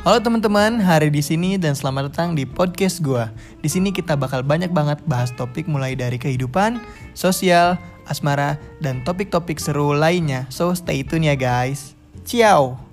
Halo teman-teman, Hari di sini dan selamat datang di podcast gua. Di sini kita bakal banyak banget bahas topik mulai dari kehidupan, sosial, asmara, dan topik-topik seru lainnya. So stay tune ya guys. Ciao.